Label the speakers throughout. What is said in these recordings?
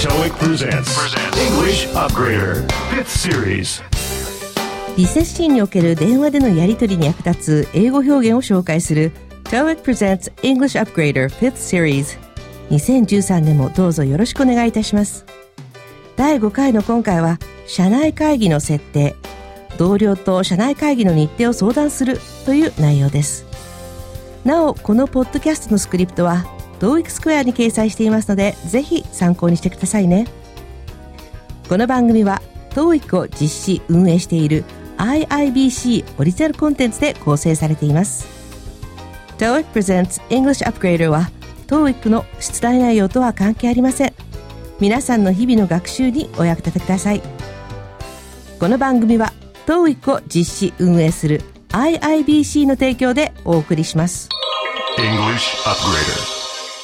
Speaker 1: TOEIC presents English Upgrader 5th Series。
Speaker 2: リセッションにおける電話でのやり取りに役立つ英語表現を紹介する TOEIC presents English Upgrader 5th Series。 2013年もどうぞよろしくお願いいたします。第5回の今回は社内会議の設定、同僚と社内会議の日程を相談するという内容です。なおこのポッドキャストのスクリプトは TOEIC スクエアに掲載していますので、ぜひ参考にしてくださいね。この番組は TOEIC を実施運営している IIBC オリジナルコンテンツで構成されています。 TOEIC presents English Upgrader は TOEIC の出題内容とは関係ありません。皆さんの日々の学習にお役立てください。この番組は TOEIC を実施運営する IIBC の提供でお送りします。
Speaker 1: English Upgrader。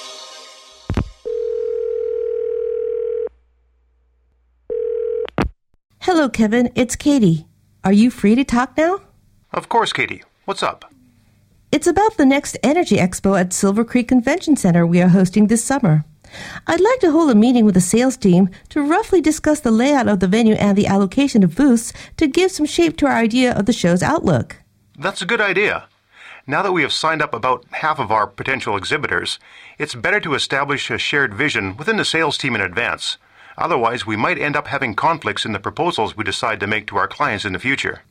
Speaker 2: Hello Kevin, it's Katie. Are you free to talk now?
Speaker 3: Of course, Katie. What's up?
Speaker 2: It's about the next Energy Expo at Silver Creek Convention Center we are hosting this summer. I'd like to hold a meeting with the sales team to roughly discuss the layout of the venue and the allocation of booths to give some shape to our idea of the show's outlook.
Speaker 3: That's a good idea. Now that we have signed up about half of our potential exhibitors, it's better to establish a shared vision within the sales team in advance. Otherwise, we might end up having conflicts in the proposals we decide to make to our clients in the future.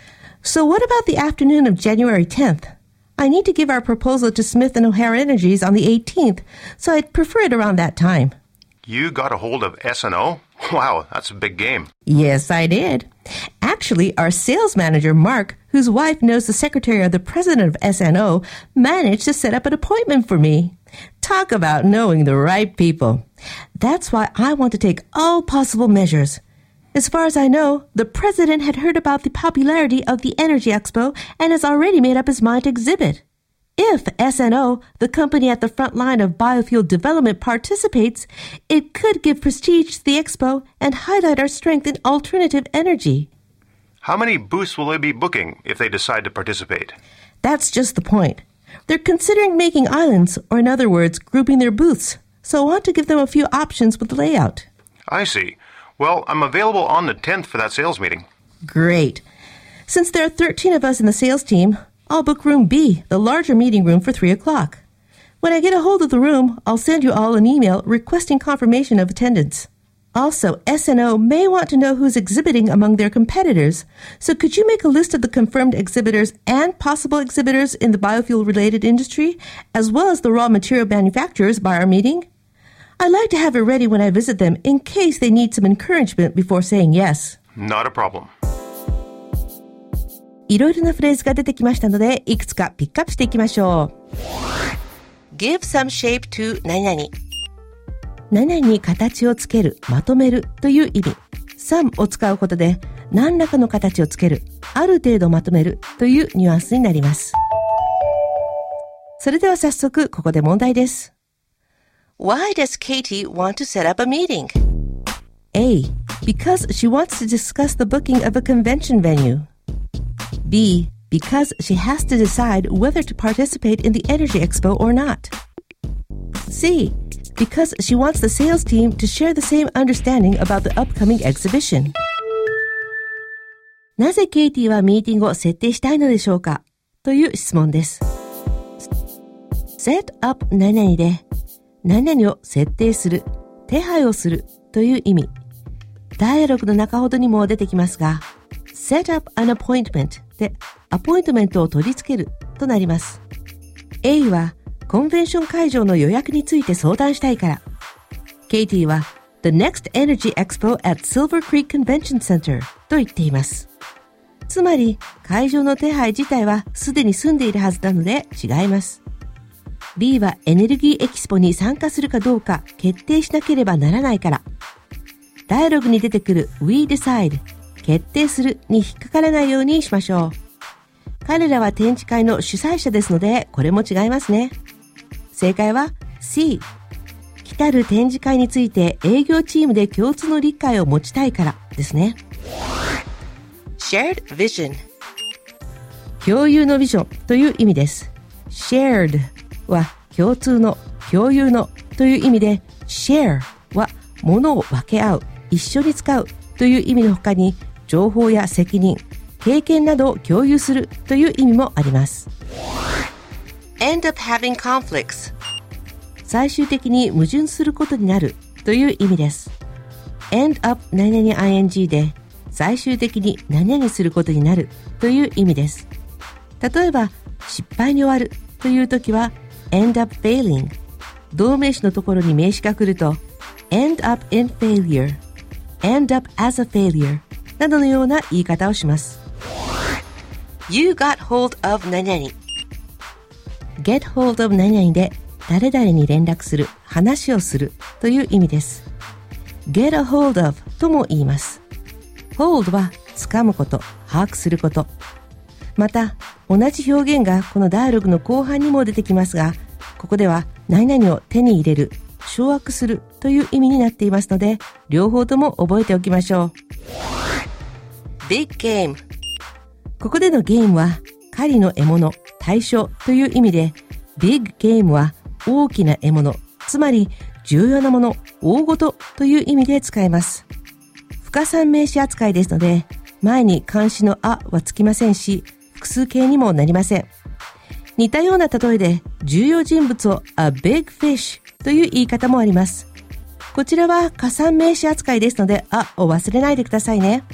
Speaker 2: So what about the afternoon of January 10th? I need to give our proposal to Smith & O'Hara Energies on the 18th, so I'd prefer it around that time.
Speaker 3: You got a hold of S&O? Wow, that's a big game.
Speaker 2: Yes, I did. Actually, our sales manager, Mark, whose wife knows the secretary of the president of S&O, managed to set up an appointment for me. Talk about knowing the right people. That's why I want to take all possible measures. As far as I know, the president had heard about the popularity of the Energy Expo and has already made up his mind to exhibit. If S&O, the company at the front line of biofuel development, participates, it could give prestige to the expo and highlight our strength in alternative energy.
Speaker 3: How many booths will they be booking if they decide to participate?
Speaker 2: That's just the point. They're considering making islands, or in other words, grouping their booths, so I want to give them a few options with the layout.
Speaker 3: I see. Well, I'm available on the 10th for that sales meeting.
Speaker 2: Great. Since there are 13 of us in the sales team, I'll book room B, the larger meeting room, for 3 o'clock. When I get a hold of the room, I'll send you all an email requesting confirmation of attendance. Also, S&O may want to know who's exhibiting among their competitors, so could you make a list of the confirmed exhibitors and possible exhibitors in the biofuel-related industry, as well as the raw material manufacturers by our meeting? I'd like to have it ready when I visit them in case they need some encouragement before saying yes.
Speaker 3: Not a problem.
Speaker 2: いろいろなフレーズが出てきましたので、いくつかピックアップしていきましょう。Give some shape to 何々。何々に形をつける、まとめるという意味。some を使うことで、何らかの形をつける、ある程度まとめるというニュアンスになります。それでは早速、ここで問題です。Why does Katie want to set up a meeting? A. Because she wants to discuss the booking of a convention venue. B. Because she has to decide whether to participate in the Energy Expo or not. C. Because she wants the sales team to share the same understanding about the upcoming exhibition. なぜケイティはミーティングを設定したいのでしょうかという質問です。set up 何々で何々を設定する、手配をするという意味。ダイアログの中ほどにも出てきますが、set up an appointment でアポイントメントを取り付けるとなります。A はコンベンション会場の予約について相談したいから。ケイティは The next Energy Expo at Silver Creek Convention Center と言っています。つまり会場の手配自体はすでに済んでいるはずなので違います。B はエネルギーエキスポに参加するかどうか決定しなければならないから。ダイアログに出てくる We decide 決定するに引っかからないようにしましょう。彼らは展示会の主催者ですのでこれも違いますね。正解は C。来たる展示会について営業チームで共通の理解を持ちたいからですね。Shared vision 共有のビジョンという意味です。Shared は共通の、共有のという意味で Share は物を分け合う、一緒に使うという意味の他に、情報や責任、経験などを共有するという意味もあります。
Speaker 4: End up having conflicts.
Speaker 2: 最終的に矛盾することになるという意味です。end up 何々 ing で最終的に何々することになるという意味です。例えば失敗に終わるというときは end up failing。動名詞のところに名詞が来ると end up in failure、end up as a failure などのような言い方をします。
Speaker 4: You got hold of 何々。
Speaker 2: get hold of 何々で誰々に連絡する、話をするという意味です。get a hold of とも言います。hold は掴むこと、把握すること。また、同じ表現がこのダイアログの後半にも出てきますが、ここでは何々を手に入れる、掌握するという意味になっていますので、両方とも覚えておきましょう。
Speaker 4: Big game。
Speaker 2: ここでのゲームは、狩りの獲物、対象という意味で、big game は大きな獲物、つまり重要なもの、大事という意味で使えます。不可算名詞扱いですので、前に冠詞のあはつきませんし、複数形にもなりません。似たような例えで、重要人物を a big fish という言い方もあります。こちらは可算名詞扱いですので、あを忘れないでくださいね。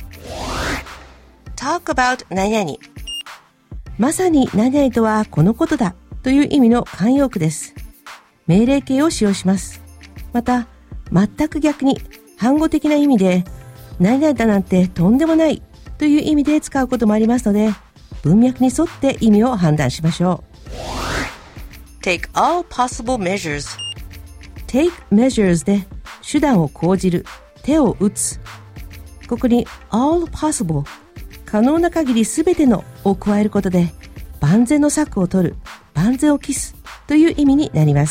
Speaker 4: Talk about 何々。
Speaker 2: まさに何々とはこのことだという意味の慣用句です。命令形を使用します。また、全く逆に反語的な意味で、何々だなんてとんでもないという意味で使うこともありますので、文脈に沿って意味を判断しましょ
Speaker 4: う。Take all possible measures.
Speaker 2: Take measures で手段を講じる、手を打つ。ここに all possible、可能な限りすべてのを加えることで、万全の策を取る、万全を期すという意味になります。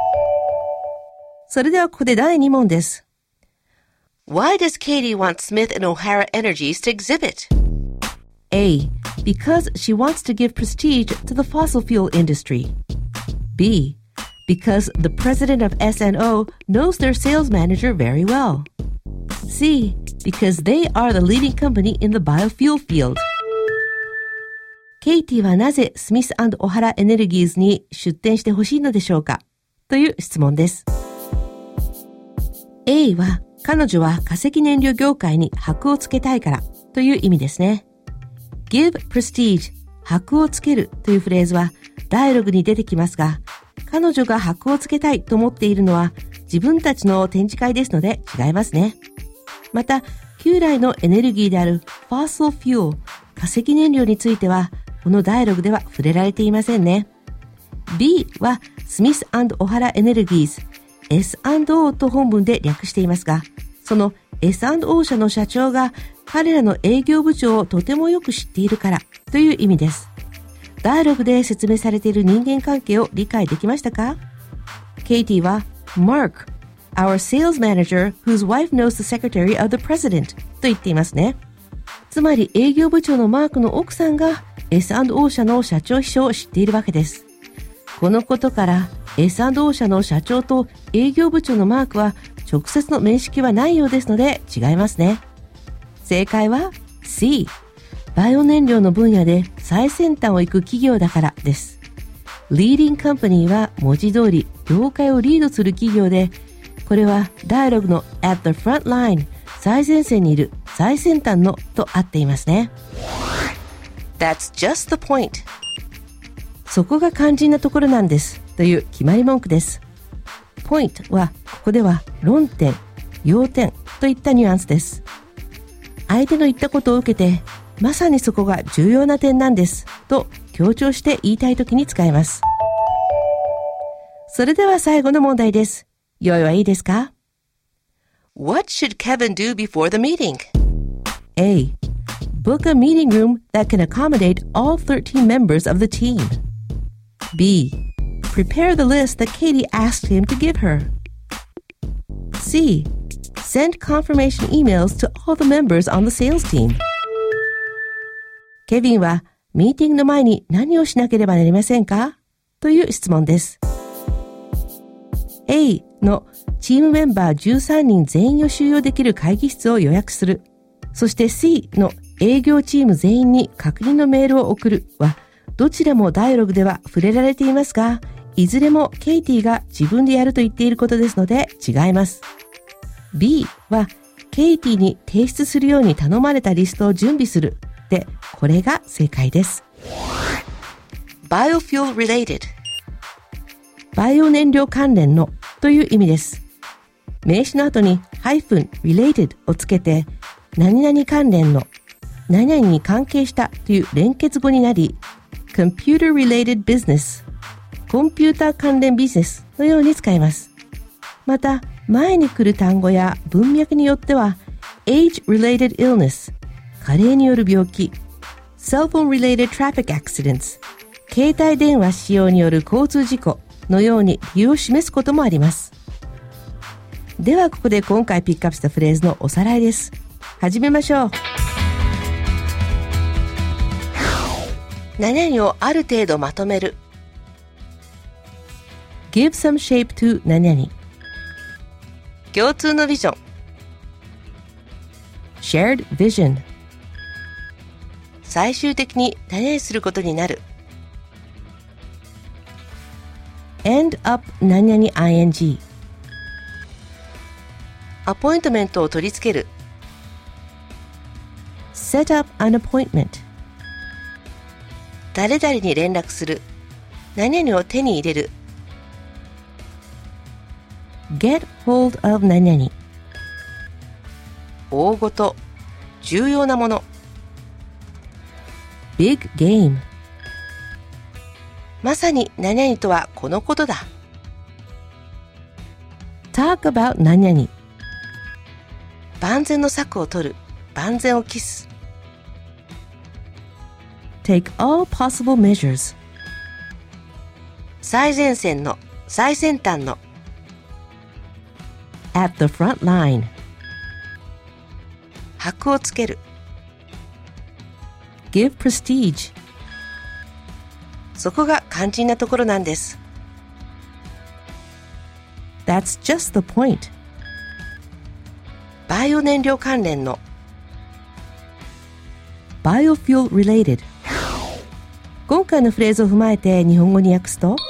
Speaker 2: それではここで第2問です。
Speaker 4: Why does Katie want Smith and O'Hara Energies to exhibit?
Speaker 2: A. Because she wants to give prestige to the fossil fuel industry. B. Because the president of S&O knows their sales manager very well. C. Because they are the leading company in the biofuel field. ケイティはなぜスミス&オハラエネルギーズに出展してほしいのでしょうかという質問です。A は彼女は化石燃料業界に箔をつけたいからという意味ですね。give prestige 箔をつけるというフレーズはダイアログに出てきますが、彼女が箔をつけたいと思っているのは自分たちの展示会ですので違いますね。また、旧来のエネルギーである fossil fuel 化石燃料についてはこのダイアログでは触れられていませんね。B はスミス&オハラエネルギーズS&O と本文で略していますが、その S&O 社の社長が彼らの営業部長をとてもよく知っているからという意味です。ダイアログで説明されている人間関係を理解できましたか？ケイティは Mark, our sales manager whose wife knows the secretary of the president と言っていますね。つまり営業部長のマークの奥さんが S&O 社の社長秘書を知っているわけです。このことからS&O 社の社長と営業部長のマークは直接の面識はないようですので違いますね。正解は C。バイオ燃料の分野で最先端を行く企業だからです。Leading Company は文字通り業界をリードする企業で、これはダイアログの at the front line 最前線にいる最先端のと合っていますね。
Speaker 4: That's just the point.
Speaker 2: そこが肝心なところなんですという決まり文句です。point はここでは論点、要点といったニュアンスです。相手の言ったことを受けて、まさにそこが重要な点なんですと強調して言いたいときに使えます。それでは最後の問題です。用意はいいですか？
Speaker 4: What should Kevin do before the meeting?
Speaker 2: A. Book a meeting room that can accommodate all 13 members of the team. B. Prepare the list that Katie asked him to give her. C. Send confirmation emails to all the members on the sales team. ケビンはミーティングの前に何をしなければなりませんかという質問です。 A のチームメンバー13人全員を収容できる会議室を予約する。そして C の営業チーム全員に確認のメールを送るは、どちらもダイアログでは触れられていますが、いずれもケイティが自分でやると言っていることですので違います。B はケイティに提出するように頼まれたリストを準備する。で、これが正解です。
Speaker 4: Biofuel related。
Speaker 2: バイオ燃料関連のという意味です。名詞の後に-related をつけて、何々関連の、何々に関係したという連結語になり、computer related business、コンピューター関連ビジネスのように使います。また、前に来る単語や文脈によっては、age related illness、加齢による病気、cell phone related traffic accidents、携帯電話使用による交通事故のように理由を示すこともあります。ではここで今回ピックアップしたフレーズのおさらいです。始めましょう。
Speaker 4: 何々をある程度まとめる。
Speaker 2: Give some shape to 何々。
Speaker 4: 共通のビジョン。
Speaker 2: Shared vision。
Speaker 4: 最終的に何々することになる。
Speaker 2: End up 何々 ing。
Speaker 4: アポイントメントを取り付ける。
Speaker 2: Set up an appointment。
Speaker 4: 誰々に連絡する。何々を手に入れる。
Speaker 2: Get hold of 何々。
Speaker 4: 大ごと、重要なもの。
Speaker 2: Big game。
Speaker 4: まさに何々とはこのことだ。
Speaker 2: Talk about 何々。
Speaker 4: 万全の策を取る。万全を期す。
Speaker 2: Take all possible measures。
Speaker 4: 最前線の、最先端の。
Speaker 2: At the front line。
Speaker 4: 箔をつける。
Speaker 2: Give prestige。
Speaker 4: そこが肝心なところなんです。
Speaker 2: That's just the point。
Speaker 4: バイオ燃料関連の。
Speaker 2: Biofuel related。今回のフレーズを踏まえて日本語に訳すと、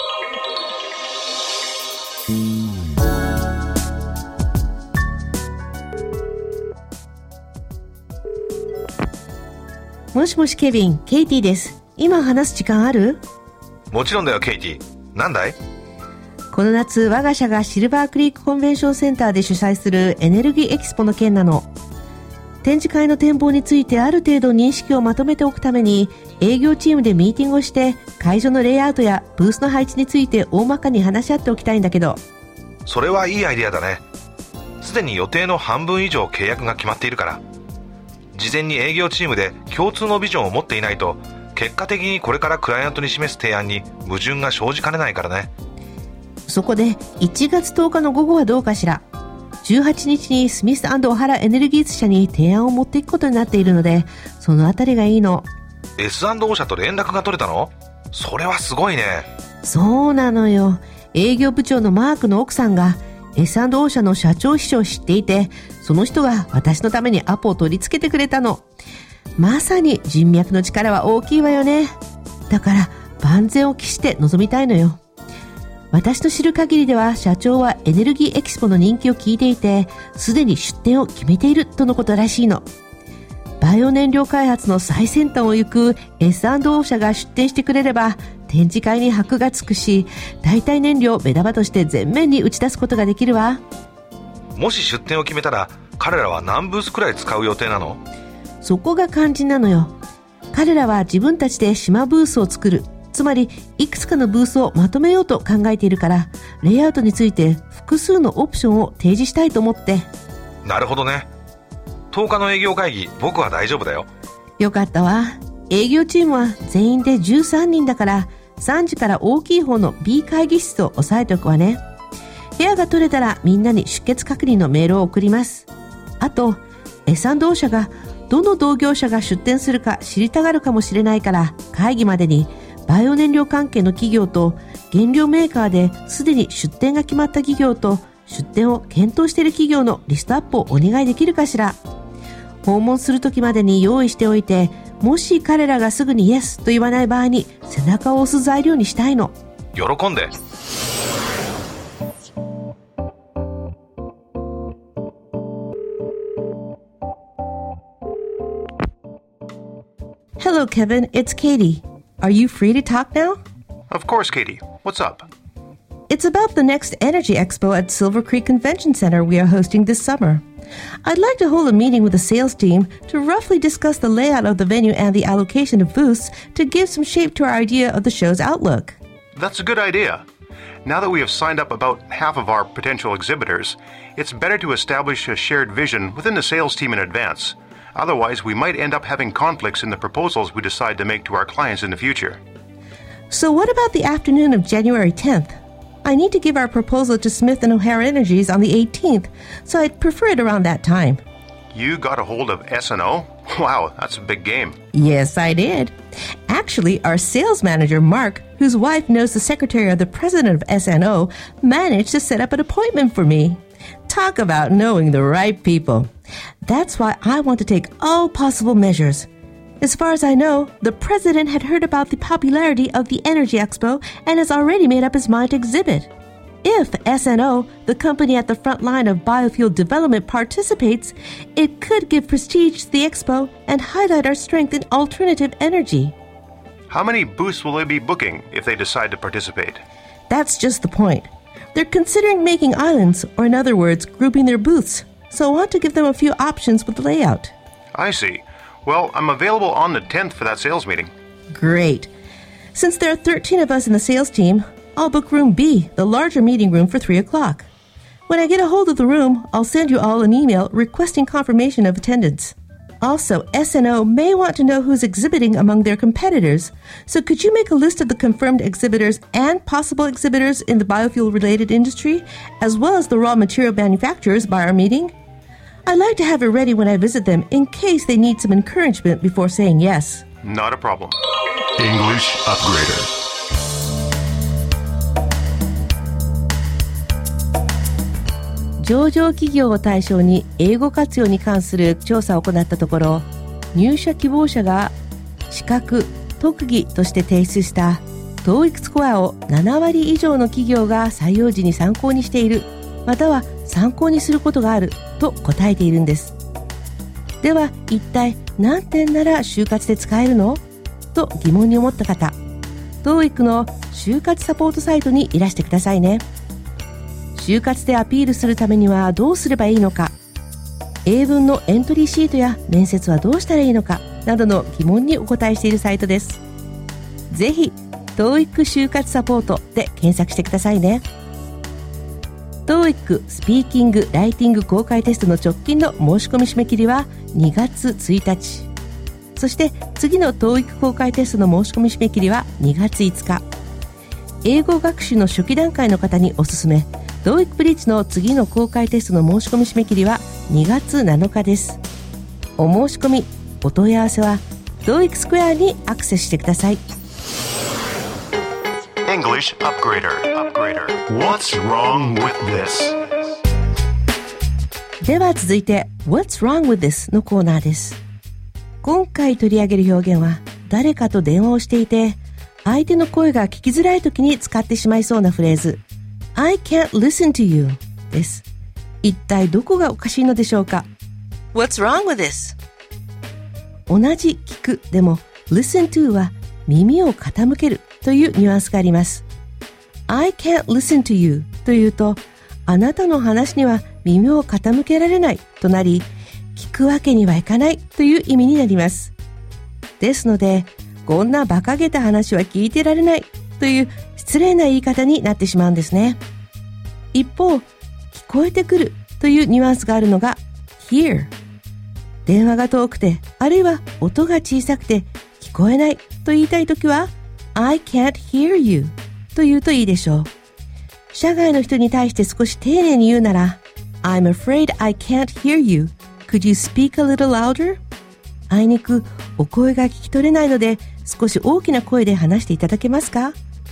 Speaker 2: もしもしケビン、ケイティです。今話す時間ある？
Speaker 5: もちろんだよケイティ。なんだい？
Speaker 2: この夏我が社がシルバークリークコンベンションセンターで主催するエネルギーエキスポの件なの。展示会の展望についてある程度認識をまとめておくために営業チームでミーティングをして会場のレイアウトやブースの配置について大まかに話し合っておきたいんだけど。
Speaker 5: それはいいアイデアだね。すでに予定の半分以上契約が決まっているから、事前に営業チームで共通のビジョンを持っていないと結果的にこれからクライアントに示す提案に矛盾が生じかねないからね。
Speaker 2: そこで1月10日の午後はどうかしら。18日にスミス&オハラエネルギーズ社に提案を持っていくことになっているので、そのあたりがいいの。
Speaker 5: S&O 社と連絡が取れたの？それはすごいね。
Speaker 2: そうなのよ。営業部長のマークの奥さんが S&O 社の社長秘書を知っていて、その人が私のためにアポを取り付けてくれたの。まさに人脈の力は大きいわよね。だから万全を期して臨みたいのよ。私の知る限りでは社長はエネルギーエキスポの人気を聞いていて、すでに出展を決めているとのことらしいの。バイオ燃料開発の最先端を行く S&O 社が出展してくれれば展示会に箔がつくし、代替燃料を目玉として前面に打ち出すことができるわ。
Speaker 5: もし出展を決めたら彼らは何ブースくらい使う予定なの？
Speaker 2: そこが肝心なのよ。彼らは自分たちで島ブースを作る、つまりいくつかのブースをまとめようと考えているから、レイアウトについて複数のオプションを提示したいと思って。
Speaker 5: なるほどね。10日の営業会議、僕は大丈夫だよ。
Speaker 2: よかったわ。営業チームは全員で13人だから、3時から大きい方の B 会議室を押さえておくわね。部屋が取れたらみんなに出欠確認のメールを送ります。あと S&O 社がどの同業者が出展するか知りたがるかもしれないから、会議までにバイオ燃料関係の企業と原料メーカーですでに出店が決まった企業と出店を検討している企業のリストアップをお願いできるかしら。訪問する時までに用意しておいて、もし彼らがすぐにイエスと言わない場合に背中を押す材料にしたいの。
Speaker 5: 喜んで。
Speaker 2: Hello, Kevin. It's Katie. Are you free to talk now?
Speaker 3: Of course, Katie. What's up?
Speaker 2: It's about the next Energy Expo at Silver Creek Convention Center we are hosting this summer. I'd like to hold a meeting with the sales team to roughly discuss the layout of the venue and the allocation of booths to give some shape to our idea of the show's outlook.
Speaker 3: That's a good idea. Now that we have signed up about half of our potential exhibitors, it's better to establish a shared vision within the sales team in advance. Otherwise, we might end up having conflicts in the proposals we decide to make to our clients in the future.
Speaker 2: So what about the afternoon of January 10th? I need to give our proposal to Smith & O'Hara Energies on the 18th, so I'd prefer it around that time.
Speaker 3: You got a hold of S&O? Wow, that's a big game.
Speaker 2: Yes, I did. Actually, our sales manager, Mark, whose wife knows the secretary of the president of S&O, managed to set up an appointment for me. Talk about knowing the right people. That's why I want to take all possible measures. As far as I know, the president had heard about the popularity of the Energy Expo and has already made up his mind to exhibit. If S&O, the company at the front line of biofuel development, participates, it could give prestige to the expo and highlight our strength in alternative energy.
Speaker 3: How many booths will they be booking if they decide to participate?
Speaker 2: That's just the point. They're considering making islands, or in other words, grouping their booths. So I want to give them a few options with the layout.
Speaker 3: I see. Well, I'm available on the 10th for that sales meeting.
Speaker 2: Great. Since there are 13 of us in the sales team, I'll book room B, the larger meeting room, for 3 o'clock. When I get a hold of the room, I'll send you all an email requesting confirmation of attendance. Also, S&O may want to know who's exhibiting among their competitors, so could you make a list of the confirmed exhibitors and possible exhibitors in the biofuel-related industry, as well as the raw material manufacturers by our meeting? I'd like to have it ready when I visit them in case they need some encouragement before saying yes.
Speaker 3: Not a problem.
Speaker 1: English Upgrader.
Speaker 2: 上場企業を対象に英語活用に関する調査を行ったところ、入社希望者が資格・特技として提出した TOEIC スコアを7割以上の企業が採用時に参考にしている、または参考にすることがあると答えているんです。では一体何点なら就活で使えるのと疑問に思った方、 TOEIC の就活サポートサイトにいらしてくださいね。就活でアピールするためにはどうすればいいのか、英文のエントリーシートや面接はどうしたらいいのかなどの疑問にお答えしているサイトです。ぜひ TOEIC 就活サポートで検索してくださいね。 TOEIC スピーキング・ライティング公開テストの直近の申し込み締め切りは2月1日、そして次の TOEIC 公開テストの申し込み締め切りは2月5日。英語学習の初期段階の方におすすめ、TOEIC ブリッジの次の公開テストの申し込み締め切りは2月7日です。お申し込み、お問い合わせは TOEIC スクエアにアクセスしてください。
Speaker 1: English Upgrader. What's wrong with this?
Speaker 2: では続いて What's wrong with this のコーナーです。今回取り上げる表現は、誰かと電話をしていて相手の声が聞きづらい時に使ってしまいそうなフレーズ、I can't listen to you です。一体どこがおかしいのでしょうか。
Speaker 4: What's wrong with this?
Speaker 2: 同じ聞くでも listen to は耳を傾けるというニュアンスがあります。 I can't listen to you というと、あなたの話には耳を傾けられないとなり、聞くわけにはいかないという意味になります。ですので、こんな馬鹿げた話は聞いてられないという失礼な言い方になってしまうんですね。一方、聞こえてくるというニュアンスがあるのが hear。 電話が遠くて、あるいは音が小さくて聞こえないと言いたいときは I can't hear you と言うといいでしょう。社外の人に対して少し丁寧に言うなら I'm afraid I can't hear you. Could you speak a little louder? あいにくお声が聞き取れないので少し大きな声で話していただけますか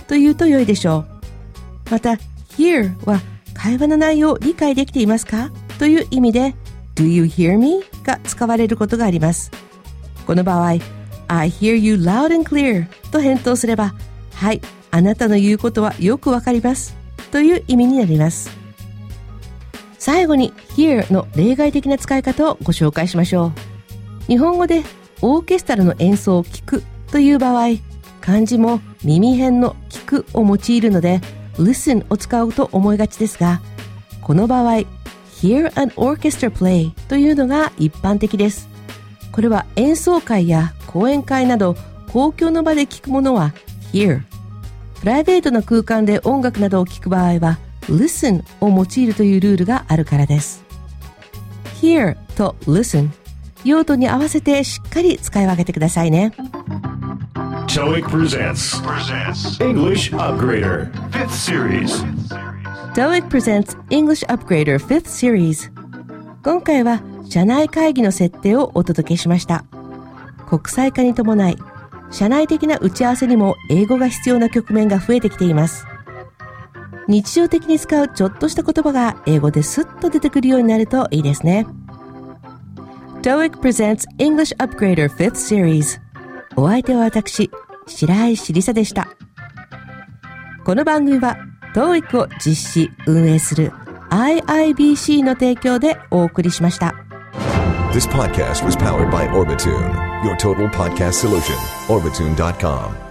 Speaker 2: と言うと良いでしょう。また hear は会話の内容を理解できていますかという意味で Do you hear me? が使われることがあります。この場合 I hear you loud and clear と返答すれば、はい、あなたの言うことはよくわかりますという意味になります。最後に hear の例外的な使い方をご紹介しましょう。日本語でオーケストラの演奏を聞くという場合、漢字も耳辺の聞くを用いるので listen を使うと思いがちですが、この場合 hear an orchestra play というのが一般的です。これは演奏会や講演会など公共の場で聞くものは hear、 プライベートな空間で音楽などを聞く場合は listen を用いるというルールがあるからです。 hear と listen、 用途に合わせてしっかり使い分けてくださいね。
Speaker 1: TOEIC presents English Upgrader 5th Series.
Speaker 2: TOEIC presents English Upgrader 5th Series。 今回は社内会議の設定をお届けしました。国際化に伴い、社内的な打ち合わせにも英語が必要な局面が増えてきています。日常的に使うちょっとした言葉が英語でスッと出てくるようになるといいですね。TOEIC presents English Upgrader 5th Series。 お相手は私、白石りさでした。この番組は TOEIC を実施・運営する IIBC の提供でお送りしました。
Speaker 6: This podcast was powered by Orbitune, your total podcast solution. Orbitune.com